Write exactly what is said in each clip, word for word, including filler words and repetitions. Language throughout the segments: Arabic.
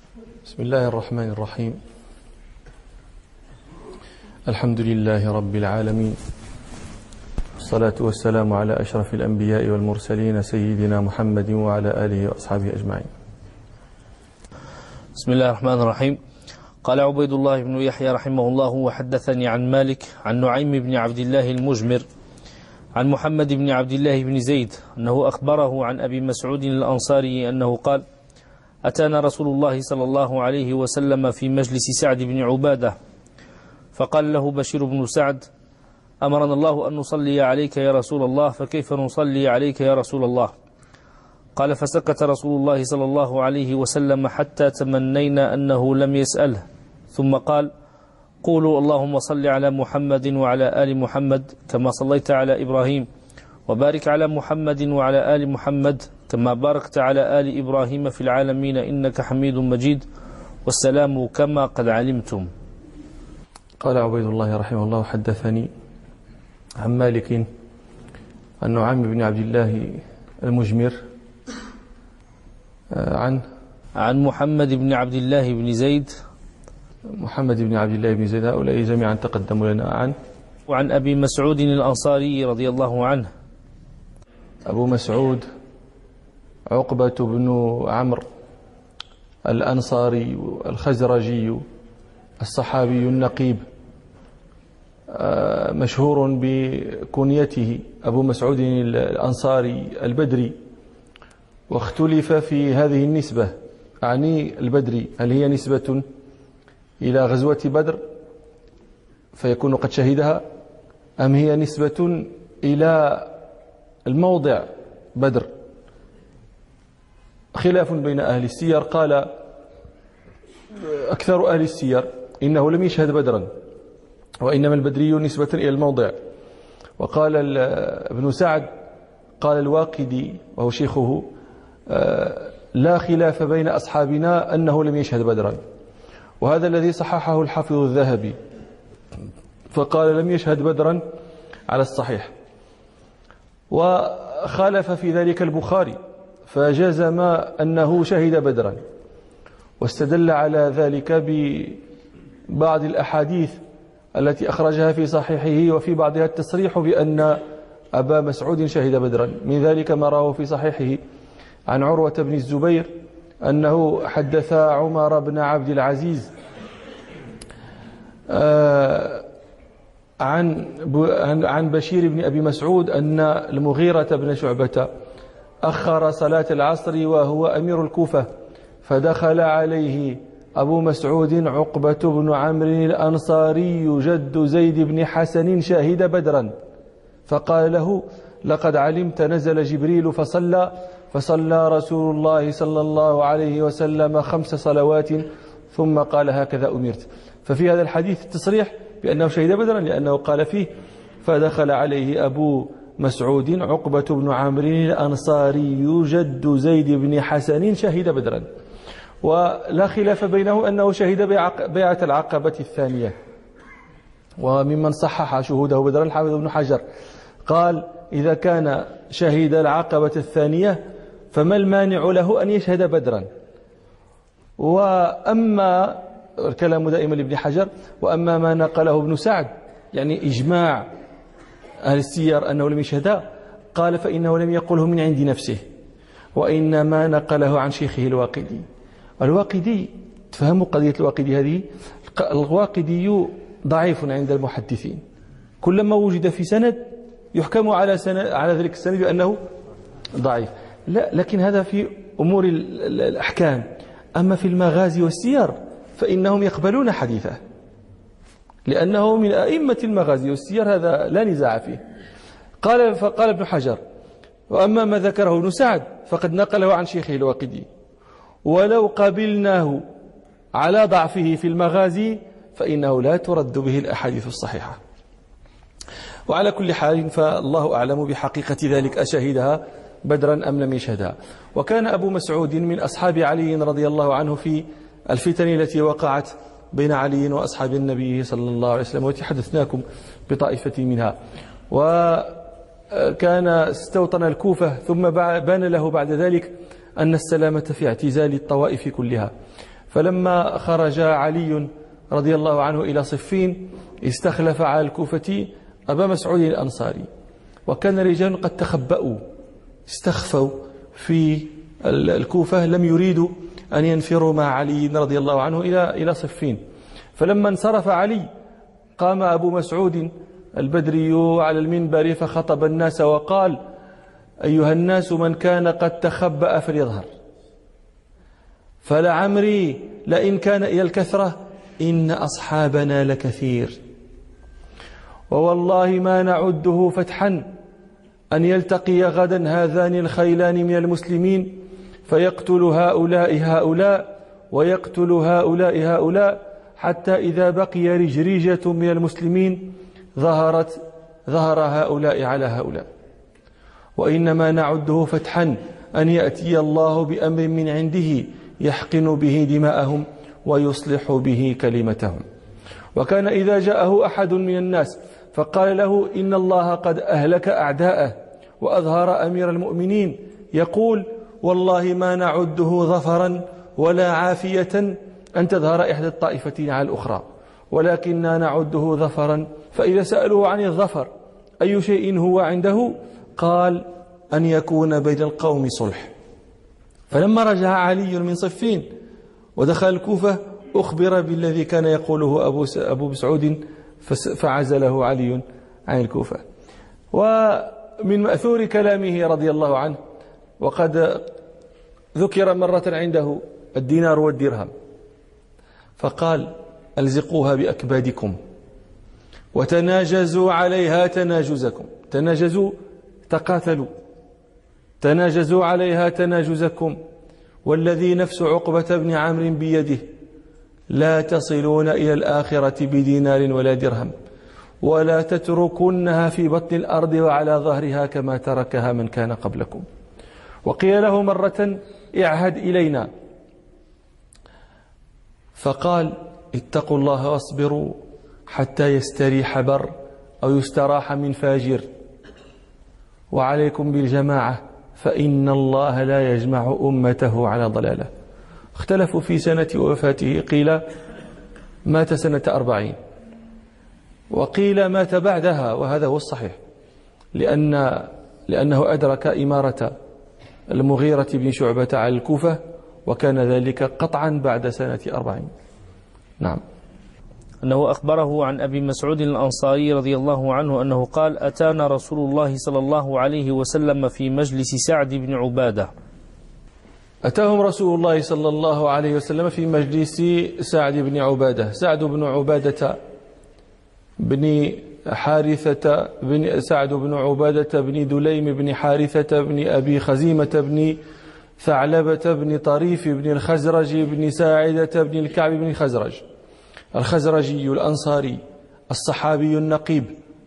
بسم الله الرحمن الرحيم. الحمد لله رب العالمين، والصلاة والسلام على أشرف الأنبياء والمرسلين سيدنا محمد وعلى آله وأصحابه أجمعين. بسم الله الرحمن الرحيم. قال عبيد الله بن يحيى رحمه الله: وحدثني عن مالك عن نعيم بن عبد الله المجمر عن محمد بن عبد الله بن زيد أنه أخبره عن أبي مسعود الأنصاري أنه قال: أتانا رسول الله صلى الله عليه وسلم في مجلس سعد بن عبادة فقال له بشير بن سعد: أمرنا الله أن نصلي عليك يا رسول الله، فكيف نصلي عليك يا رسول الله؟ قال: فسكت رسول الله صلى الله عليه وسلم حتى تمنينا أنه لم يسأله، ثم قال: قولوا اللهم صل على محمد وعلى آل محمد كما صليت على إبراهيم، وبارك على محمد وعلى آل محمد كما باركت على آل إبراهيم في العالمين إنك حميد مجيد، والسلام كما قد علمتم. قال عبيد الله رحمه الله: حدثني عن مالك عن نعيم بن عبد الله المجمر عن عن محمد بن عبد الله بن زيد محمد بن عبد الله بن زيد، هؤلاء جميعا تقدموا لنا. عن وعن أبي مسعود الأنصاري رضي الله عنه. أبو مسعود عقبة بن عمرو الأنصاري الخزرجي الصحابي النقيب، مشهور بكنيته أبو مسعود الأنصاري البدري، واختلف في هذه النسبة، أعني البدري، هل هي نسبة إلى غزوة بدر فيكون قد شهدها، أم هي نسبة إلى الموضع بدر؟ خلاف بين أهل السير. قال أكثر أهل السير إنه لم يشهد بدرا، وإنما البدري نسبة إلى الموضع. وقال ابن سعد، قال الواقدي وهو شيخه: لا خلاف بين أصحابنا أنه لم يشهد بدرا، وهذا الذي صححه الحافظ الذهبي، فقال لم يشهد بدرا على الصحيح. وخالف في ذلك البخاري فجزم أنه شهد بدرا، واستدل على ذلك ببعض الأحاديث التي أخرجها في صحيحه، وفي بعضها التصريح بأن أبا مسعود شهد بدرا. من ذلك ما رواه في صحيحه عن عروة بن الزبير أنه حدث عمر بن عبد العزيز عن عن بشير بن أبي مسعود أن المغيرة بن شعبة أخر صلاة العصر وهو أمير الكوفة، فدخل عليه أبو مسعود عقبة بن عمرو الأنصاري جد زيد بن حسن شاهد بدرا، فقال له: لقد علمت نزل جبريل فصلى فصلى رسول الله صلى الله عليه وسلم خمس صلوات ثم قال: هكذا أمرت. ففي هذا الحديث التصريح بأنه شهد بدرا، لأنه قال فيه: فدخل عليه أبو مسعود عقبة بن عمرو الأنصاري جد زيد بن حسن شهد بدرا. ولا خلاف بينه أنه شهد بيعة العقبة الثانية. وممن صحح شهوده بدرا الحافظ ابن حجر، قال: إذا كان شهد العقبة الثانية فما المانع له أن يشهد بدرا؟ وأما الكلام دائما لابن حجر، وأما ما نقله ابن سعد، يعني إجماع أهل السير أنه لم يشهدها، قال: فإنه لم يقله من عند نفسه، وإنما نقله عن شيخه الواقدي. الواقدي، تفهموا قضية الواقدي هذه، الواقدي ضعيف عند المحدثين، كلما وجد في سند يحكم على سند على ذلك السند بأنه ضعيف. لا، لكن هذا في أمور الأحكام. أما في المغازي والسير فإنهم يقبلون حديثه، لأنه من أئمة المغازي والسير، هذا لا نزاع فيه. قال فقال ابن حجر: وأما ما ذكره ابن سعد فقد نقله عن شيخه الواقدي، ولو قبلناه على ضعفه في المغازي فإنه لا ترد به الأحاديث الصحيحة. وعلى كل حال فالله أعلم بحقيقة ذلك، أشهدها بدرا أم لم يشهدها. وكان أبو مسعود من أصحاب علي رضي الله عنه في الفتن التي وقعت بين علي وأصحاب النبي صلى الله عليه وسلم، وتحدثناكم بطائفة منها. وكان استوطن الكوفة، ثم بان له بعد ذلك أن السلامة في اعتزال الطوائف كلها، فلما خرج علي رضي الله عنه إلى صفين استخلف على الكوفة أبا مسعود الأنصاري، وكان رجال قد تخبأوا استخفوا في الكوفة، لم يريدوا أن ينفروا مع علي رضي الله عنه إلى إلى صفين. فلما انصرف علي قام أبو مسعود البدري على المنبر فخطب الناس وقال: أيها الناس، من كان قد تخبأ فليظهر، فلعمري لئن كان إلى الكثرة إن أصحابنا لكثير، ووالله ما نعده فتحا أن يلتقي غدا هذان الخيلان من المسلمين فيقتل هؤلاء هؤلاء ويقتل هؤلاء هؤلاء، حتى إذا بقي رجريجة من المسلمين ظهرت ظهر هؤلاء على هؤلاء، وإنما نعده فتحا أن يأتي الله بأمر من عنده يحقن به دماءهم ويصلح به كلمتهم. وكان إذا جاءه أحد من الناس فقال له: إن الله قد أهلك أعداءه وأظهر أمير المؤمنين، يقول: والله ما نعده ظفرا ولا عافية أن تظهر إحدى الطائفتين على الأخرى، ولكننا نعده ظفرا. فإذا سألوه عن الظفر أي شيء هو عنده قال: أن يكون بين القوم صلح. فلما رجع علي من صفين ودخل الكوفة أخبر بالذي كان يقوله أبو أبو مسعود فعزله علي عن الكوفة. ومن مأثور كلامه رضي الله عنه، وقد ذكر مرة عنده الدينار والدرهم فقال: ألزقوها بأكبادكم وتناجزوا عليها تناجزكم. تناجزوا تقاتلوا، تناجزوا عليها تناجزكم، والذي نفس عقبة بن عمرو بيده لا تصلون إلى الآخرة بدينار ولا درهم، ولا تتركنها في بطن الأرض وعلى ظهرها كما تركها من كان قبلكم. وقيل له مرة: اعهد إلينا، فقال: اتقوا الله واصبروا حتى يستريح بر أو يستراح من فاجر، وعليكم بالجماعة فإن الله لا يجمع أمته على ضلاله. اختلفوا في سنة وفاته، قيل مات سنة أربعين، وقيل مات بعدها، وهذا هو الصحيح، لأن لأنه أدرك إمارة المغيرة بن شعبة على الكوفة، وكان ذلك قطعا بعد سنة أربعين. نعم. أنه أخبره عن أبي مسعود الأنصاري رضي الله عنه أنه قال: أتانا رسول الله صلى الله عليه وسلم في مجلس سعد بن عبادة. أتاهم رسول الله صلى الله عليه وسلم في مجلس سعد بن عبادة. سعد بن عبادة بن حارثة بن سعد بن عبادة بن دليم بن حارثة بن أبي خزيمة بن ثعلبة بن طريف بن الخزرج بن ساعدة بن الكعب بن الخزرج، الخزرجي الأنصاري الصحابي النقيب،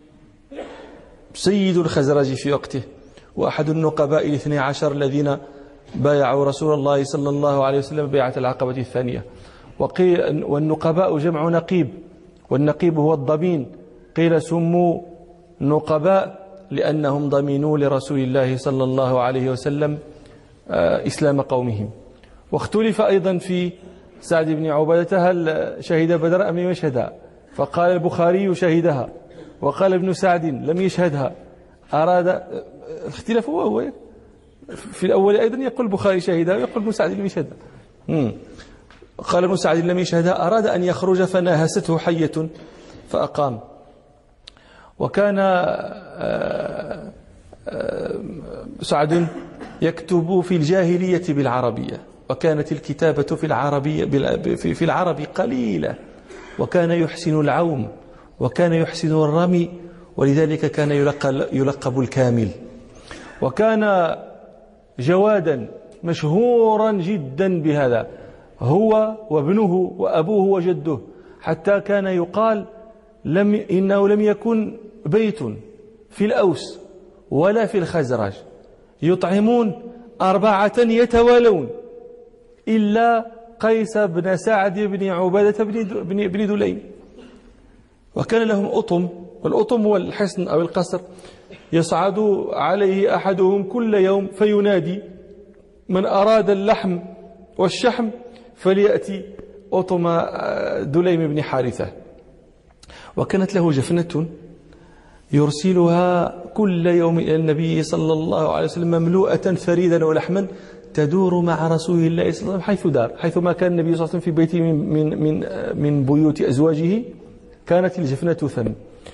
سيد الخزرج في وقته، وأحد النقباء الاثني عشر الذين بايعوا رسول الله صلى الله عليه وسلم بيعة العقبة الثانية. وقيل والنقباء جمع نقيب، والنقيب هو الضمين. قيل سموا نقباء لأنهم ضمنوا لرسول الله صلى الله عليه وسلم إسلام قومهم. واختلف أيضا في سعد بن عبادة هل شهد بدر أم لم يشهدها، فقال البخاري شهدها، وقال ابن سعد لم يشهدها. أراد اختلاف هو في الأول أيضا يقول البخاري شهدها ويقول ابن سعد لم يشهدها. قال ابن سعد لم يشهدها، أراد أن يخرج فناهسته حية فأقام. وكان سعد يكتب في الجاهلية بالعربية، وكانت الكتابة في العربية في العرب قليلة، وكان يحسن العوم وكان يحسن الرمي، ولذلك كان يلقب الكامل. وكان جوادا مشهورا جدا بهذا، هو وابنه وأبوه وجده، حتى كان يقال لم إنه لم يكن بيت في الأوس ولا في الخزرج يطعمون أربعة يتوالون إلا قيس بن سعد بن عبادة بن بن دليم. وكان لهم أطم، والأطم هو الحصن أو القصر، يصعد عليه أحدهم كل يوم فينادي: من أراد اللحم والشحم فليأتي أطم دليم بن حارثة. وكانت له جفنة يرسلها كل يوم إلى النبي صلى الله عليه وسلم مملوءة فريدا ولحما تدور مع رسول الله صلى الله عليه وسلم حيث دار، حيثما كان النبي صلى الله عليه وسلم في بيته من من من, من بيوت أزواجه كانت الجفنة ثم.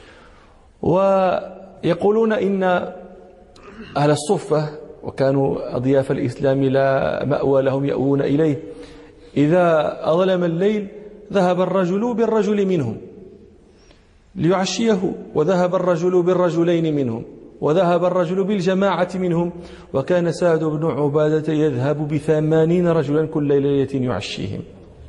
ويقولون إن أهل الصفة، وكانوا أضياف الإسلام لا مأوى لهم يأوون إليه، إذا أظلم الليل ذهب الرجل بالرجل منهم ليعشيه، وذهب الرجل بالرجلين منهم، وذهب الرجل بالجماعة منهم، وكان سعد بن عبادة يذهب بثمانين رجلا كل ليلة يعشيهم.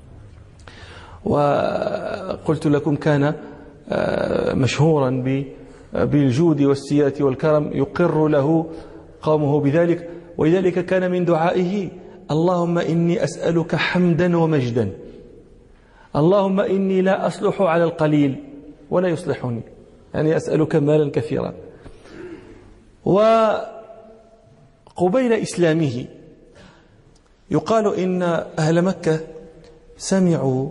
وقلت لكم كان مشهورا بالجود والسيرة والكرم، يقر له قومه بذلك، ولذلك كان من دعائه: اللهم إني أسألك حمدا ومجدا، اللهم إني لا أصلح على القليل ولا يصلحني، يعني أسألك مالا كثيرا. وقبيل إسلامه يقال إن أهل مكة سمعوا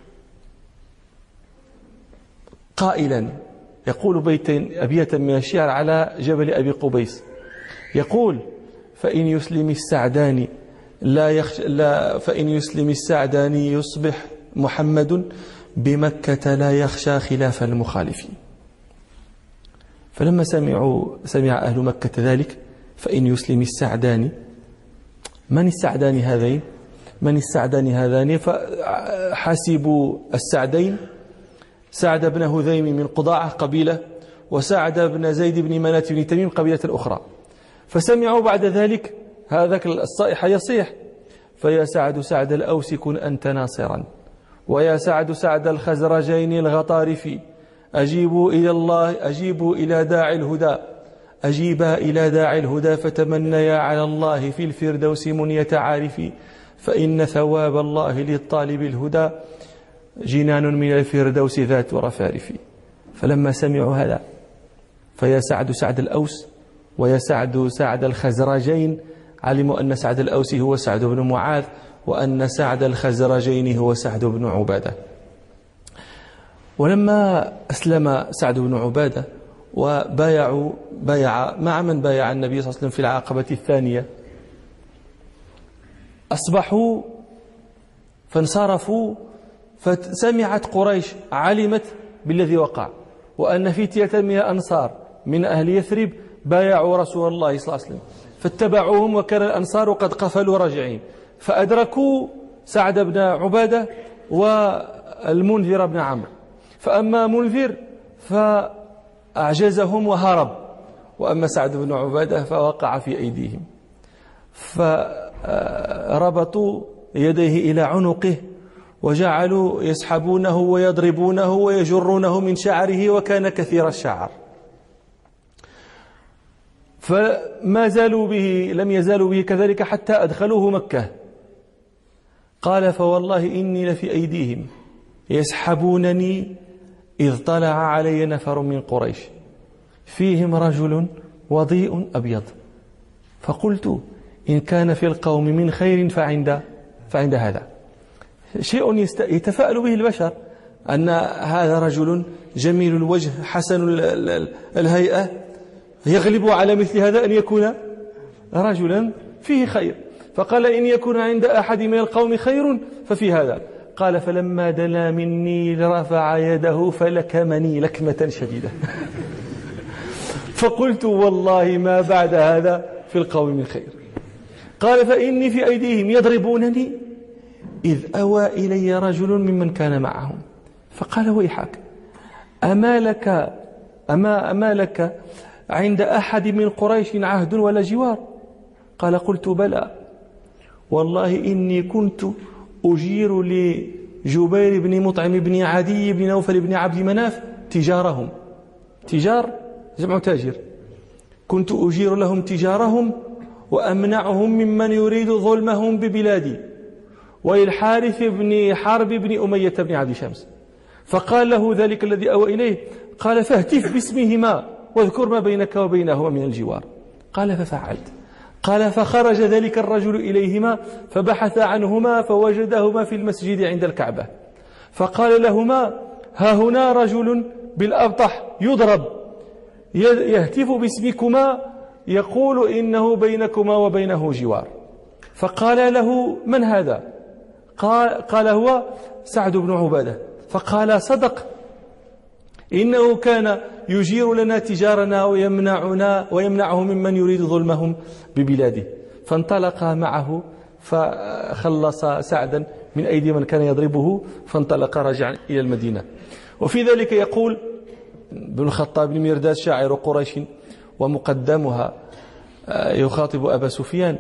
قائلا يقول بيتين أبيتا من الشعر على جبل أبي قبيس، يقول: فإن يسلم السعداني لا يخش لا فإن يسلم السعداني يصبح محمد بمكة لا يخشى خلاف المخالفين. فلما سمعوا سمع أهل مكة ذلك: فإن يسلم السعداني، من السعدان هذين؟ من السعدان هذان؟ فحسبوا السعدين سعد بن هذيم من قضاعة قبيلة، وسعد بن زيد بن منات بن تميم قبيلة أخرى، فسمعوا بعد ذلك هذاك الصائح يصيح: فيا سعد سعد الأوس كن أنت ناصرا، ويا سعد سعد الخزرجين الغطارف، أجيبوا إلى الله أجيبوا إلى داعي الهدى، أجيبا إلى داعي الهدى، فتمنيا على الله في الفردوس منية عارف، فإن ثواب الله للطالب الهدى جنان من الفردوس ذات رفارف. فلما سمعوا هذا: فيا سعد سعد الأوس ويا سعد سعد الخزرجين، علموا أن سعد الأوس هو سعد بن معاذ، وأن سعد الخزرجين هو سعد بن عبادة. ولما أسلم سعد بن عبادة وبايعوا بايع مع من بايع النبي صلى الله عليه وسلم في العقبة الثانية، أصبحوا فانصرفوا، فسمعت قريش، علمت بالذي وقع، وأن فتية من الأنصار من أهل يثرب بايعوا رسول الله صلى الله عليه وسلم، فاتبعوهم، وكان الأنصار قد قفلوا راجعين، فأدركوا سعد بن عبادة والمنذر بن عمرو. فأما منذر فأعجزهم وهرب، وأما سعد بن عبادة فوقع في أيديهم، فربطوا يديه إلى عنقه وجعلوا يسحبونه ويضربونه ويجرونه من شعره، وكان كثير الشعر. فما زالوا به لم يزالوا به كذلك حتى أدخلوه مكة. قال: فوالله إني لفي أيديهم يسحبونني إذ طلع علي نفر من قريش فيهم رجل وضيء أبيض، فقلت: إن كان في القوم من خير فعند فعند هذا. شيء يتفاءل به البشر، أن هذا رجل جميل الوجه حسن الهيئة يغلب على مثل هذا أن يكون رجلا فيه خير. فقال: إن يكون عند أحد من القوم خير ففي هذا. قال: فلما دنا مني رفع يده فلكمني لكمة شديدة. فقلت: والله ما بعد هذا في القوم من خير. قال: فإني في أيديهم يضربونني إذ أوى إلي رجل ممن كان معهم، فقال: ويحك، أما لك أما أما لك عند أحد من قريش عهد ولا جوار؟ قال: قلت: بلى، والله إني كنت أجير لجبير بن مطعم بن عدي بن نوفل بن عبد مناف تجارهم. تجار جمع تاجر. كنت أجير لهم تجارهم وأمنعهم ممن يريد ظلمهم ببلادي، وللحارث بن حرب بن أمية بن عبد شمس. فقال له ذلك الذي أوى إليه، قال: فاهتف باسمهما واذكر ما بينك وبينهما من الجوار. قال: ففعلت. قال فخرج ذلك الرجل إليهما فبحث عنهما فوجدهما في المسجد عند الكعبة، فقال لهما ها هنا رجل بالأبطح يضرب يهتف باسمكما يقول إنه بينكما وبينه جوار. فقال له من هذا؟ قال, قال هو سعد بن عبادة. فقال صدق، إنه كان يجير لنا تجارنا ويمنعنا ويمنعه ممن يريد ظلمهم ببلاده. فانطلق معه فخلص سعدا من أيدي من كان يضربه، فانطلق راجعا إلى المدينة. وفي ذلك يقول ابن الخطاب بن مرداس شاعر قريش ومقدمها يخاطب أبا سفيان: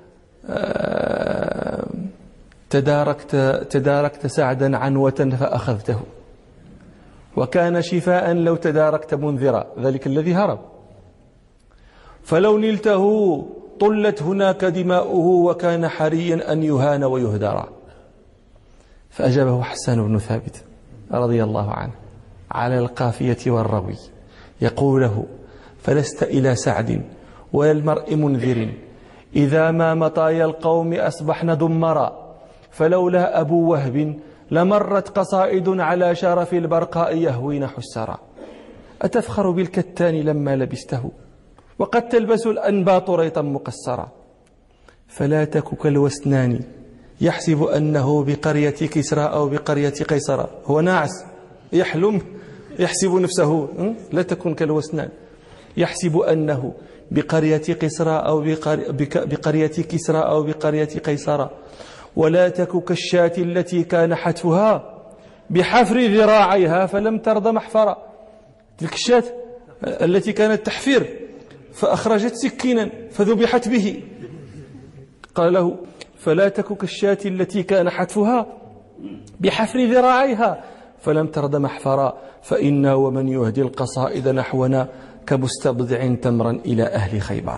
تداركت, تداركت سعدا عنوة فأخذته، وكان شفاء لو تداركت منذرا، ذلك الذي هرب، فلو نلته طلت هناك دماؤه، وكان حريا أن يهان ويهدر. فأجابه حسان بن ثابت رضي الله عنه على القافية والروي يقول له: فلست إلى سعد ولا المرء منذر، إذا ما مطايا القوم أصبحن دمرا، فلولا أبو وهب لمرت قصائد على شرف البرقاء يهوين حسرا. أتفخر بالكتان لما لبسته، وقد تلبس الأنباط ريطا مقصرا، فلا تك كالوسنان يحسب أنه بقرية كسرى أو بقرية قيصر. هو ناعس يحلم يحسب نفسه، لا تكن كالوسنان يحسب أنه بقرية قسرى أو بقرية كسرى أو بقرية قيصر، ولا تك كالشاة التي كان حتفها بحفر ذراعيها فلم ترض محفرا. تلك الشاة التي كانت تحفر فأخرجت سكينا فذبحت به. قال له: فلا تك كالشاة التي كان حتفها بحفر ذراعيها فلم ترض محفرا، فإنا ومن يهدي القصائد نحونا كمستبضع تمرا إلى أهل خيبر.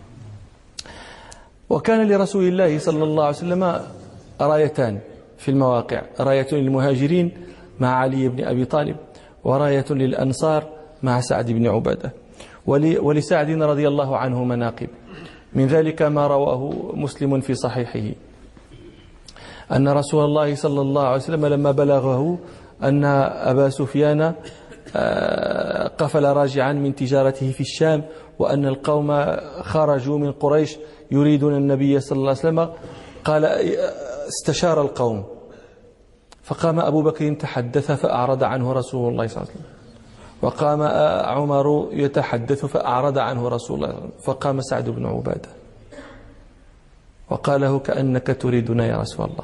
وكان لرسول الله صلى الله عليه وسلم رايتان في المواقع: راية للمهاجرين مع علي بن أبي طالب، وراية للأنصار مع سعد بن عبادة. ولسعد رضي الله عنه مناقب، من ذلك ما رواه مسلم في صحيحه أن رسول الله صلى الله عليه وسلم لما بلغه أن أبا سفيان قفل راجعا من تجارته في الشام، وأن القوم خرجوا من قريش يريدون النبي صلى الله عليه وسلم، قال استشار القوم، فقام أبو بكر تحدث فأعرض عنه رسول الله صلى الله عليه وسلم، وقام عمر يتحدث فأعرض عنه رسول الله صلى الله عليه وسلم، فقام سعد بن عبادة وقال له: كأنك تريدنا يا رسول الله.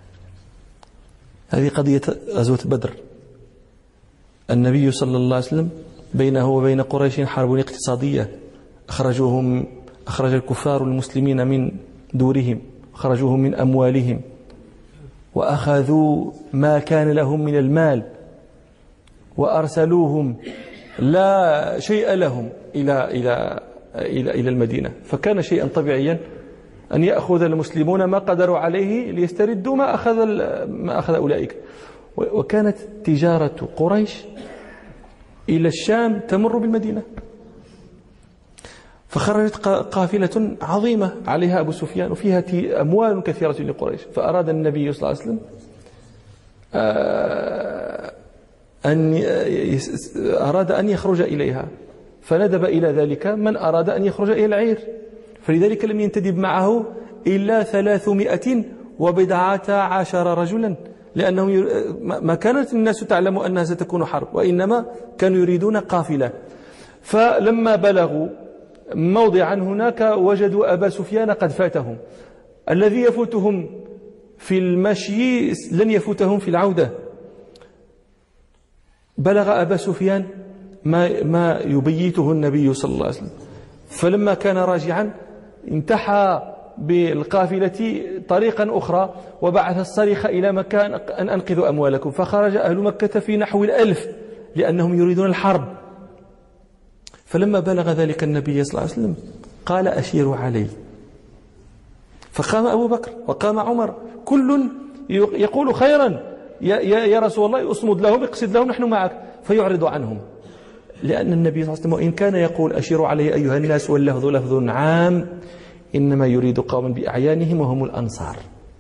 هذه قضية غزوة بدر. النبي صلى الله عليه وسلم بينه وبين قريش حرب اقتصادية، أخرجوهم أخرج الكفار المسلمين من دورهم، أخرجوهم من أموالهم، وأخذوا ما كان لهم من المال، وأرسلوهم لا شيء لهم إلى إلى إلى إلى المدينة. فكان شيئا طبيعيا أن يأخذ المسلمون ما قدروا عليه ليستردوا ما أخذ ما أخذ أولئك. وكانت تجارة قريش إلى الشام تمر بالمدينة، فخرجت قافلة عظيمة عليها أبو سفيان وفيها أموال كثيرة لقريش، فأراد النبي صلى الله عليه وسلم أن أراد أن يخرج إليها، فندب إلى ذلك من أراد أن يخرج إلى العير، فلذلك لم ينتدب معه إلا ثلاثمائة وبضعة عشر رجلا، لأنهم ما كانت الناس تعلم أنها ستكون حرب، وإنما كانوا يريدون قافلة. فلما بلغوا موضعا هناك وجدوا أبا سفيان قد فاتهم، الذي يفوتهم في المشي لن يفوتهم في العودة. بلغ أبا سفيان ما, ما يبيته النبي صلى الله عليه وسلم، فلما كان راجعا انتحى بالقافلة طريقا أخرى وبعث الصريخ إلى مكان أن أنقذوا أموالكم، فخرج أهل مكة في نحو الألف لأنهم يريدون الحرب. فلما بلغ ذلك النبي صلى الله عليه وسلم قال: أشيروا علي. فقام أبو بكر وقام عمر، كل يقول خيرا يا, يا رسول الله، أصمد لهم، اقصد لهم، نحن معك، فيعرض عنهم، لأن النبي صلى الله عليه وسلم إن كان يقول أشيروا علي أيها الناس واللفظ لفظ عام، إنما يريد قوما بأعيانهم وهم الأنصار.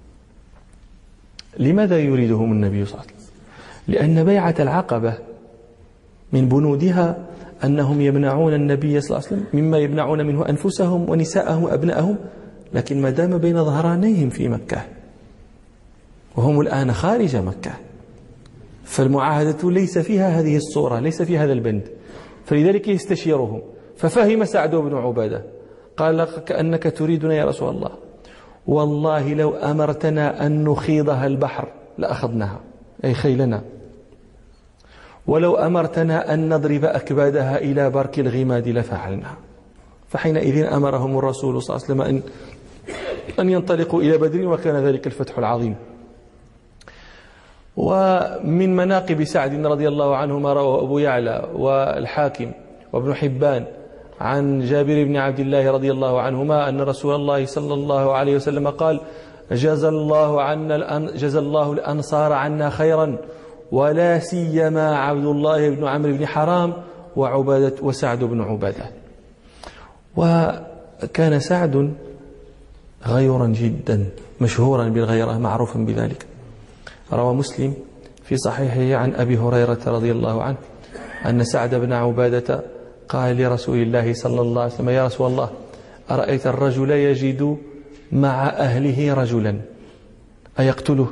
لماذا يريدهم النبي صلى الله عليه وسلم؟ لأن بيعة العقبة من بنودها أنهم يمنعون النبي صلى الله عليه وسلم مما يمنعون منه أنفسهم ونساءهم وأبنائهم، لكن ما دام بين ظهرانيهم في مكة وهم الآن خارج مكة، فالمعاهدة ليس فيها هذه الصورة، ليس فيها هذا البند، فلذلك يستشيرهم. ففهم سعد بن عبادة قال كأنك تريدنا يا رسول الله، والله لو أمرتنا أن نخيضها البحر لأخذناها، أي خيلنا، ولو أمرتنا أن نضرب أكبادها إلى برك الغماد لفعلنا. فحينئذ أمرهم الرسول صلى الله عليه وسلم أن أن ينطلقوا إلى بدر، وكان ذلك الفتح العظيم. ومن مناقب سعد رضي الله عنه ما رواه أبو يعلى والحاكم وابن حبان عن جابر بن عبد الله رضي الله عنهما أن رسول الله صلى الله عليه وسلم قال: جزى الله عنا جزى الله الأنصار عنا خيرا، ولا سيما عبد الله بن عمرو بن حرام وعبادة وسعد بن عبادة. وكان سعد غيورا جدا، مشهورا بالغيرة، معروفا بذلك. روى مسلم في صحيحه عن أبي هريرة رضي الله عنه أن سعد بن عبادة قال لرسول الله صلى الله عليه وسلم: يا رسول الله، أرأيت الرجل يجد مع أهله رجلا أيقتله؟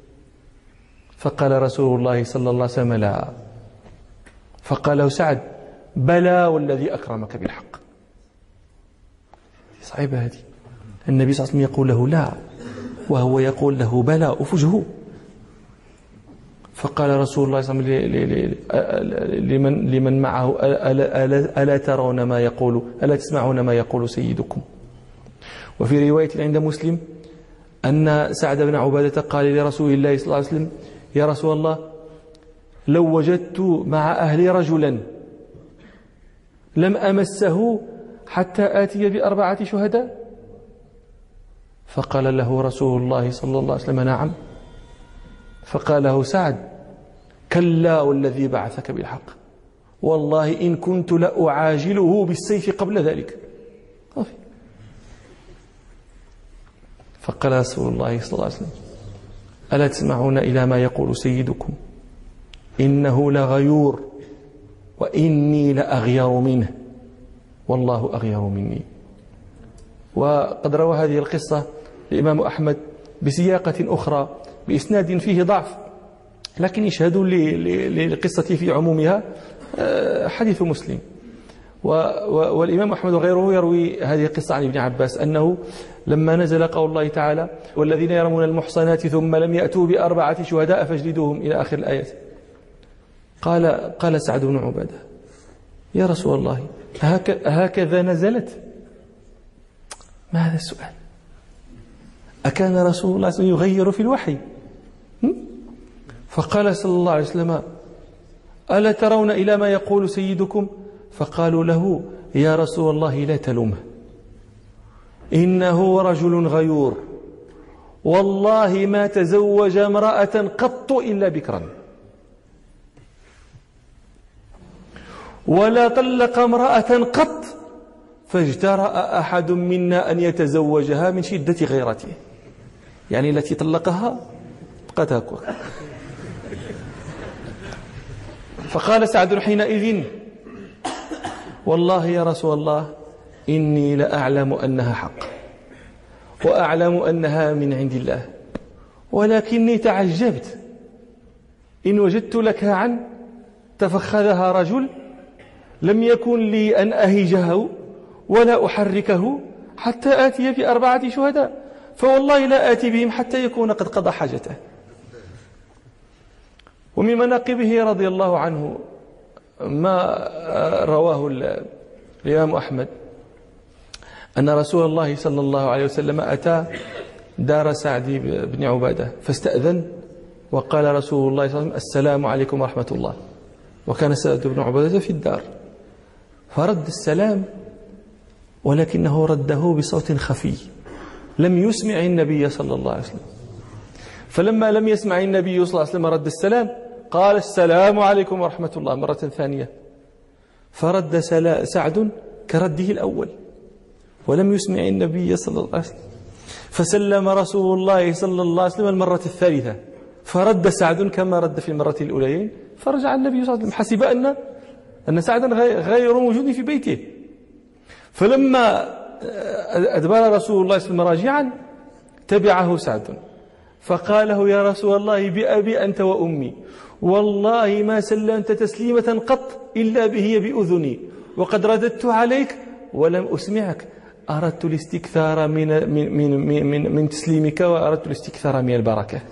فقال رسول الله صلى الله عليه وسلم: لا. فقال له سعد: بلى والذي أكرمك بالحق. صعيبة هذه، النبي صلى الله عليه وسلم يقول له لا، وهو يقول له بلى، أفجه. فقال رسول الله صلى الله عليه وسلم لمن, لمن معه: ألا, ألا, ألا ترون ما يقول، ألا تسمعون ما يقول سيدكم؟ وفي رواية عند مسلم أن سعد بن عبادة قال لرسول الله صلى الله عليه وسلم: يا رسول الله، لو وجدت مع أهلي رجلا لم أمسه حتى آتي بأربعة شهداء. فقال له رسول الله صلى الله عليه وسلم: نعم. فقال له سعد: كلا والذي بعثك بالحق، والله إن كنت لأعاجله بالسيف قبل ذلك. فقال رسول الله صلى الله عليه وسلم: ألا تسمعون إلى ما يقول سيدكم؟ إنه لغيور وإني لأغير منه والله أغير مني. وقد روى هذه القصة الإمام أحمد بسياقة أخرى بإسناد فيه ضعف، لكن يشهد للقصة في عمومها حديث مسلم. والإمام أحمد وغيره يروي هذه القصة عن ابن عباس أنه لما نزل قول الله تعالى: والذين يرمون المحصنات ثم لم يأتوا بأربعة شهداء فاجلدوهم إلى آخر الآيات، قال قال سعد بن عبادة: يا رسول الله، هكذا نزلت؟ ما هذا السؤال؟ أكان رسول الله صلى الله عليه وسلم يغير في الوحي؟ فقال صلى الله عليه وسلم: ألا ترون إلى ما يقول سيدكم؟ فقالوا له: يا رسول الله لا تلومه، إنه رجل غيور، والله ما تزوج امرأة قط إلا بكرا، ولا طلق امرأة قط فاجترأ أحد منا أن يتزوجها من شدة غيرته. يعني التي طلقها بقت هكذا. فقال سعد حينئذ: والله يا رسول الله إني لأعلم أنها حق، وأعلم أنها من عند الله، ولكني تعجبت إن وجدت لك عن تفخذها رجل لم يكن لي أن أهجه ولا أحركه حتى آتي بأربعة شهداء، فوالله لا آتي بهم حتى يكون قد قضى حاجته. ومن مناقبه رضي الله عنه ما رواه الإمام أحمد أن رسول الله صلى الله عليه وسلم أتى دار سعد بن عبادة فاستأذن، وقال رسول الله صلى الله عليه وسلم: السلام عليكم ورحمة الله. وكان سعد بن عبادة في الدار، فرد السلام ولكنه رده بصوت خفي لم يسمع النبي صلى الله عليه وسلم. فلما لم يسمع النبي صلى الله عليه وسلم رد السلام، قال: السلام عليكم ورحمة الله مرة ثانية، فرد سعد كرده الأول، ولم يسمع النبي صلى الله عليه وسلم. فسلم رسول الله صلى الله عليه وسلم المرة الثالثة، فرد سعد كما رد في المرة الأولين، فرجع النبي صلى الله عليه وسلم، حسب أن أن سعدا غير موجود في بيته. فلما أدبر رسول الله صلى الله عليه وسلم راجعا تبعه سعد فقال له: يا رسول الله بأبي أنت وأمي، والله ما سلمت تسليمة قط إلا به بأذني، وقد رددت عليك ولم أسمعك، أردت الاستكثار من من من من, من تسليمك، وأردت الاستكثار من البركة.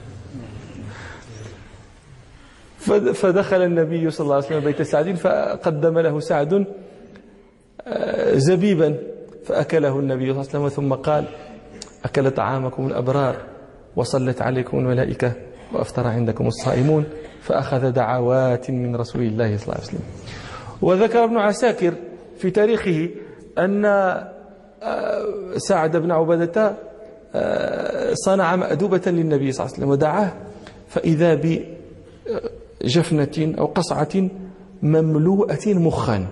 فدخل النبي صلى الله عليه وسلم بيت سعد، فقدم له سعد زبيبا فأكله النبي صلى الله عليه وسلم، ثم قال: أكل طعامكم الأبرار وصلت عليكم الملائكة وأفطر عندكم الصائمون. فأخذ دعوات من رسول الله صلى الله عليه وسلم. وذكر ابن عساكر في تاريخه أن سعد بن عبادة صنع مأدوبة للنبي صلى الله عليه وسلم ودعاه، فإذا بجفنة أو قصعة مملوءة مخا.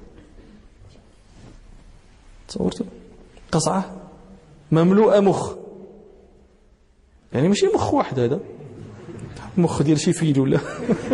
تصورت قصعة مملوءة مخ، يعني ماشي مخ واحد، هذا مخ ديال شي فيل ولا.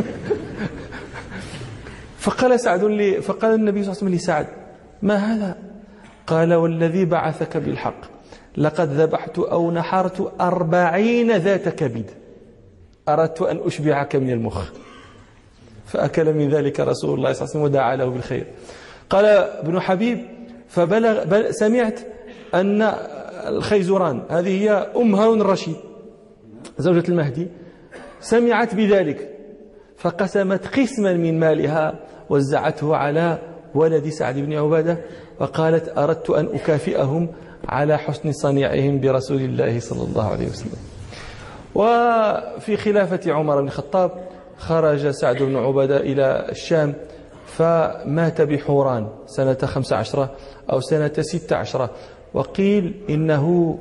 فقال سعد لي فقال النبي صلى الله عليه وسلم لسعد: ما هذا؟ قال: والذي بعثك بالحق لقد ذبحت أو نحرت أربعين ذات كبد، أردت أن أشبعك من المخ. فأكل من ذلك رسول الله صلى الله عليه وسلم ودعا له بالخير. قال ابن حبيب: فبلغ بل سمعت أن الخيزران، هذه هي أم هارون الرشيد زوجة المهدي، سمعت بذلك فقسمت قسما من مالها وزعته على ولد سعد بن عبادة، وقالت: أردت أن أكافئهم على حسن صنيعهم برسول الله صلى الله عليه وسلم. وفي خلافة عمر بن الخطاب خرج سعد بن عبادة إلى الشام، فمات بحوران سنة خمس عشرة أو سنة ست عشرة، وقيل إنه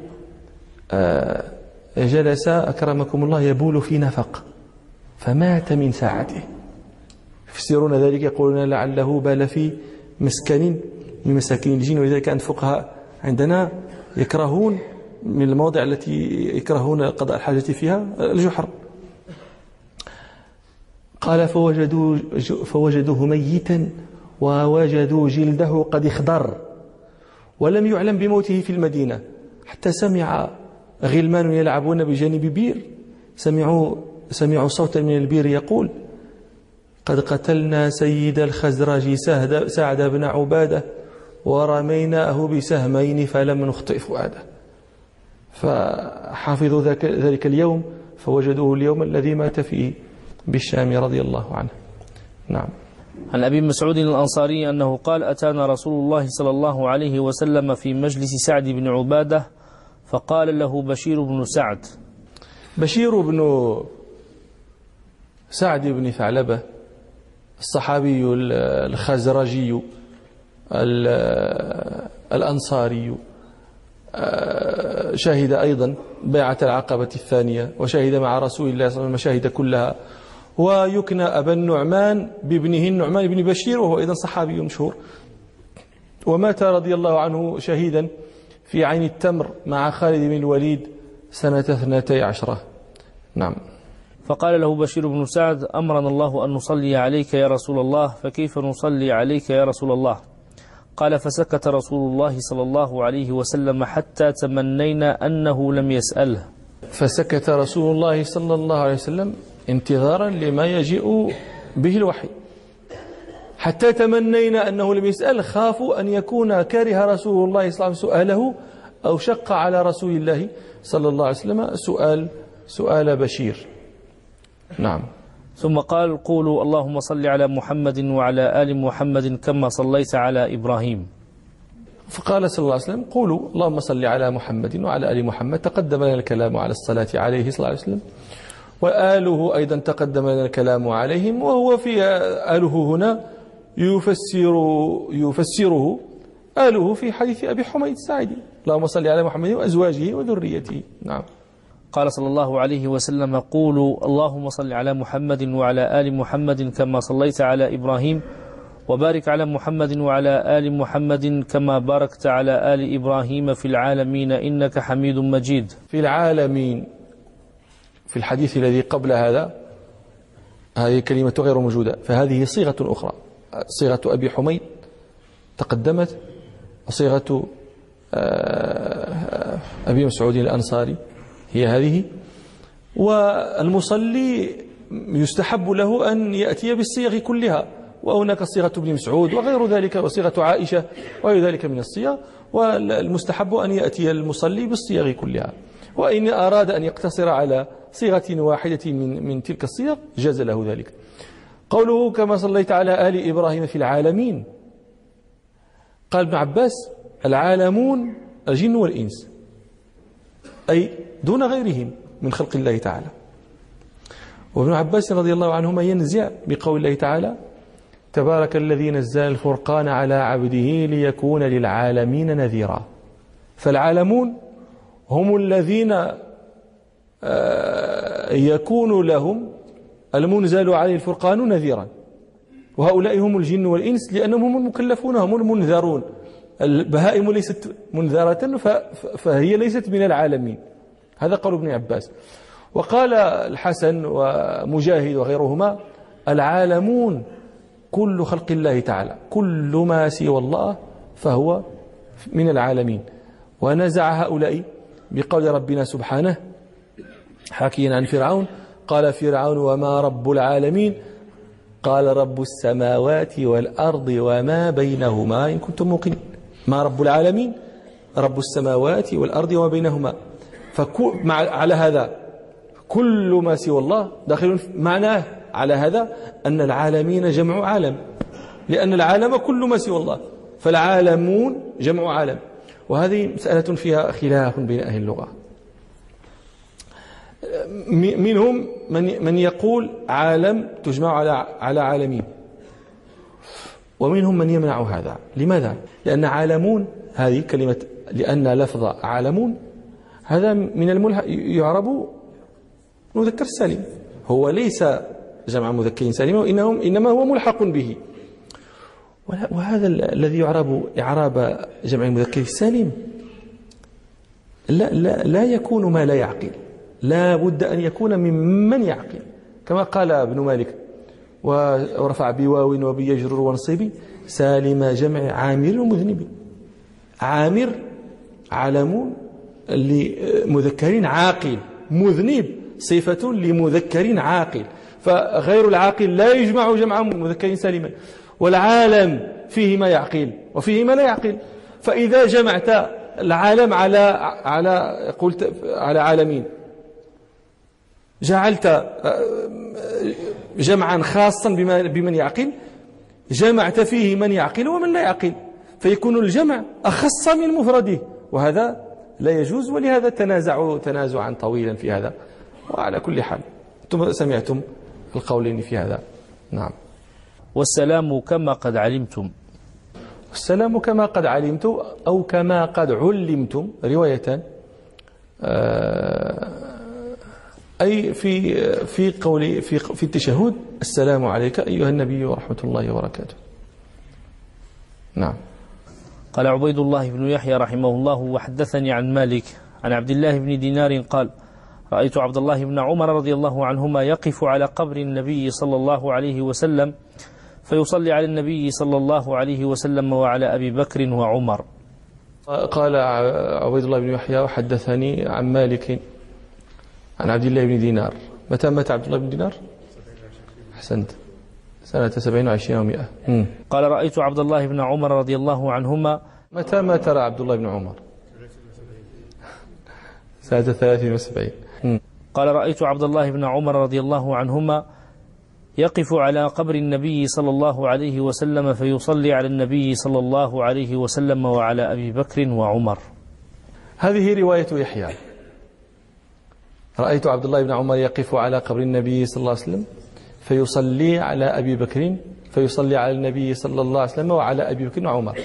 جلس أكرمكم الله يبول في نفق فمات من ساعته. يفسرون ذلك يقولون لعله بال في مسكن من مساكن الجن، ولذلك كان الفقهاء عندنا يكرهون من المواضع التي يكرهون قضاء الحاجة فيها الجحر. قال: فوجدوا فوجدوه ميتا ووجدوا جلده قد اخضر، ولم يعلم بموته في المدينة، حتى سمع غلمان يلعبون بجانب بير، سمعوا سمعوا صوتا من البير يقول: قد قتلنا سيد الخزرج سعد بن عبادة ورميناه بسهمين فلم نخطئ فؤاده. فحافظوا ذلك اليوم فوجدوه اليوم الذي مات فيه بالشام رضي الله عنه. نعم. عن أبي مسعود الأنصاري أنه قال: أتانا رسول الله صلى الله عليه وسلم في مجلس سعد بن عبادة فقال له بشير بن سعد. بشير بن سعد بن ثعلبة الصحابي الخزرجي الأنصاري، شهد أيضا بيعة العقبة الثانية، وشهد مع رسول الله صلى الله عليه وسلم المشاهد كلها، ويكنى أبا النعمان بابنه النعمان بن بشير، وهو أيضا صحابي مشهور، ومات رضي الله عنه شهيدا في عين التمر مع خالد بن الوليد سنة اثنتي عشرة. نعم. فقال له بشير بن سعد: أمرنا الله أن نصلي عليك يا رسول الله، فكيف نصلي عليك يا رسول الله؟ قال: فسكت رسول الله صلى الله عليه وسلم حتى تمنينا أنه لم يسأله. فسكت رسول الله صلى الله عليه وسلم انتظارا لما يجيء به الوحي، حتى تمنينا أنه لم يسأل، خافوا أن يكون كره رسول الله صلى الله عليه وسلم سؤاله أو شق على رسول الله صلى الله عليه وسلم سؤال سؤال بشير. نعم. ثم قال: قولوا اللهم صل على محمد وعلى آل محمد كما صليت على إبراهيم. فقال صلى الله عليه وسلم: قولوا اللهم صل على محمد وعلى آل محمد. تقدم لنا الكلام على الصلاة عليه صلى الله عليه وسلم، وآله أيضا تقدم لنا الكلام عليهم، وهو في آله هنا يفسر يفسره آله في حديث أبي حميد الساعدي: اللهم صل على محمد وأزواجه وذريته. نعم. قال صلى الله عليه وسلم: قولوا اللهم صل على محمد وعلى آل محمد كما صليت على إبراهيم وبارك على محمد وعلى آل محمد كما باركت على آل إبراهيم في العالمين إنك حميد مجيد. في العالمين في الحديث الذي قبل هذا هذه كلمة غير موجودة، فهذه صيغة أخرى، صيغة أبي حميد تقدمت، وصيغة أبي مسعود الأنصاري هي هذه. والمصلي يستحب له أن يأتي بالصيغ كلها، وهناك صيغة ابن مسعود وغير ذلك وصيغة عائشة وغير ذلك من الصيغ، والمستحب أن يأتي المصلي بالصيغ كلها. وإن أراد أن يقتصر على صيغة واحدة من من تلك الصيغ جاز له ذلك. قوله كما صليت على آل إبراهيم في العالمين، قال ابن عباس العالمون الجن والإنس، أي دون غيرهم من خلق الله تعالى. وابن عباس رضي الله عنهما ينزع بقول الله تعالى تبارك الذي نزل الفرقان على عبده ليكون للعالمين نذيرا. فالعالمون هم الذين يكون لهم المنزل عليه الفرقان نذيرا، وهؤلاء هم الجن والإنس لأنهم هم المكلفون، هم المنذرون. البهائم ليست منذرة فهي ليست من العالمين. هذا قول ابن عباس. وقال الحسن ومجاهد وغيرهما العالمون كل خلق الله تعالى، كل ما سوى الله فهو من العالمين. ونزع هؤلاء بقول ربنا سبحانه حكيا عن فرعون قال فرعون وما رب العالمين قال رب السماوات والأرض وما بينهما إن كنتم موقنين. ما رب العالمين؟ رب السماوات والأرض وما بينهما. فعلى هذا كل ما سوى الله داخل معناه على هذا أن العالمين جمع عالم، لأن العالم كل ما سوى الله، فالعالمون جمع عالم. وهذه مسألة فيها خلاف بين أهل اللغة. منهم من من يقول عالم تجمع على على عالمين، ومنهم من يمنع هذا. لماذا؟ لأن عالمون هذه كلمة، لأن لفظ عالمون هذا من الملحق يعرب مذكر سالم، هو ليس جمع مذكر سالم، وإنهم إنما هو ملحق به. وهذا الذي يعرب إعراب جمع المذكر السالم لا, لا, لا يكون ما لا يعقل، لا بد أن يكون ممن يعقل، كما قال ابن مالك ورفع بواو وبيجرر ونصيب سالم جمع عامر ومذنب. عامر علم لمذكر عاقل، مذنب صفة لمذكر عاقل، فغير العاقل لا يجمع جمع مذكر سالما. والعالم فيه ما يعقل وفيه ما لا يعقل، فإذا جمعت العالم على على قلت على عالمين، جعلت جمعا خاصا بمن يعقل، جمعت فيه من يعقل ومن لا يعقل، فيكون الجمع أخص من مفرده، وهذا لا يجوز. ولهذا تنازعوا تنازعا طويلا في هذا. وعلى كل حال أنتم سمعتم القولين في هذا. نعم. والسلام كما قد علمتم. السلام كما قد علمتم أو كما قد علمتم رواية، أي في في قول في في التشهد السلام عليك أيها النبي ورحمة الله وبركاته. نعم. قال عبيد الله بن يحيى رحمه الله وحدثني عن مالك عن عبد الله بن دينار قال رأيت عبد الله بن عمر رضي الله عنهما يقف على قبر النبي صلى الله عليه وسلم فيصلي على النبي صلى الله عليه وسلم وعلى أبي بكر وعمر. قال عبيد الله بن يحيى وحدثني عن مالك عن عبد الله بن دينار. متى مات عبد الله بن دينار؟ أحسنت، سنة سبعين وعشرين ومئة. قال رأيت عبد الله بن عمر رضي الله عنهما. متى مات عبد الله بن عمر؟ سنة ثلاثين وسبعين. قال رأيت عبد الله بن عمر رضي الله عنهما يقف على قبر النبي صلى الله عليه وسلم فيصلي على النبي صلى الله عليه وسلم وعلى أبي بكر وعمر. هذه رواية يحيى. رأيت عبد الله بن عمر يقف على قبر النبي صلى الله عليه وسلم فيصلي على أبي بكر فيصلي على النبي صلى الله عليه وسلم وعلى أبي بكر وعمر.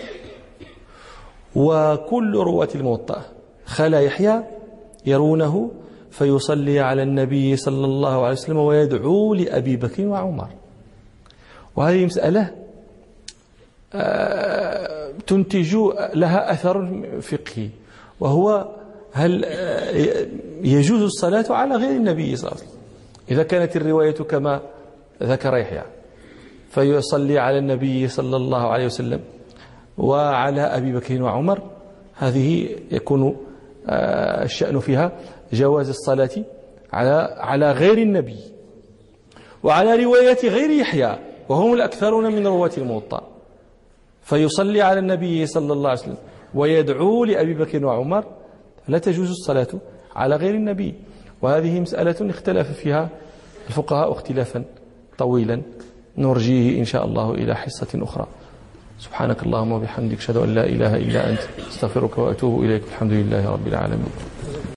وكل رواة الموطأ خلا يحيى يرونه فيصلي على النبي صلى الله عليه وسلم ويدعو لأبي بكر وعمر. وهذه مسألة تنتج لها أثر فقهي، وهو هل يجوز الصلاة على غير النبي صلى الله عليه وسلم؟ إذا كانت الرواية كما ذكر يحيى فيصلي على النبي صلى الله عليه وسلم وعلى أبي بكر وعمر، هذه يكون الشأن فيها جواز الصلاة على على غير النبي. وعلى رواية غير يحيى وهم الأكثرون من رواة الموطأ فيصلي على النبي صلى الله عليه وسلم ويدعو لأبي بكر وعمر، لا تجوز الصلاة على غير النبي. وهذه مسألة اختلف فيها الفقهاء اختلافا طويلا نرجيه إن شاء الله إلى حصة أخرى. سبحانك اللهم وبحمدك أشهد أن لا إله إلا أنت استغفرك وأتوب إليك. الحمد لله رب العالمين.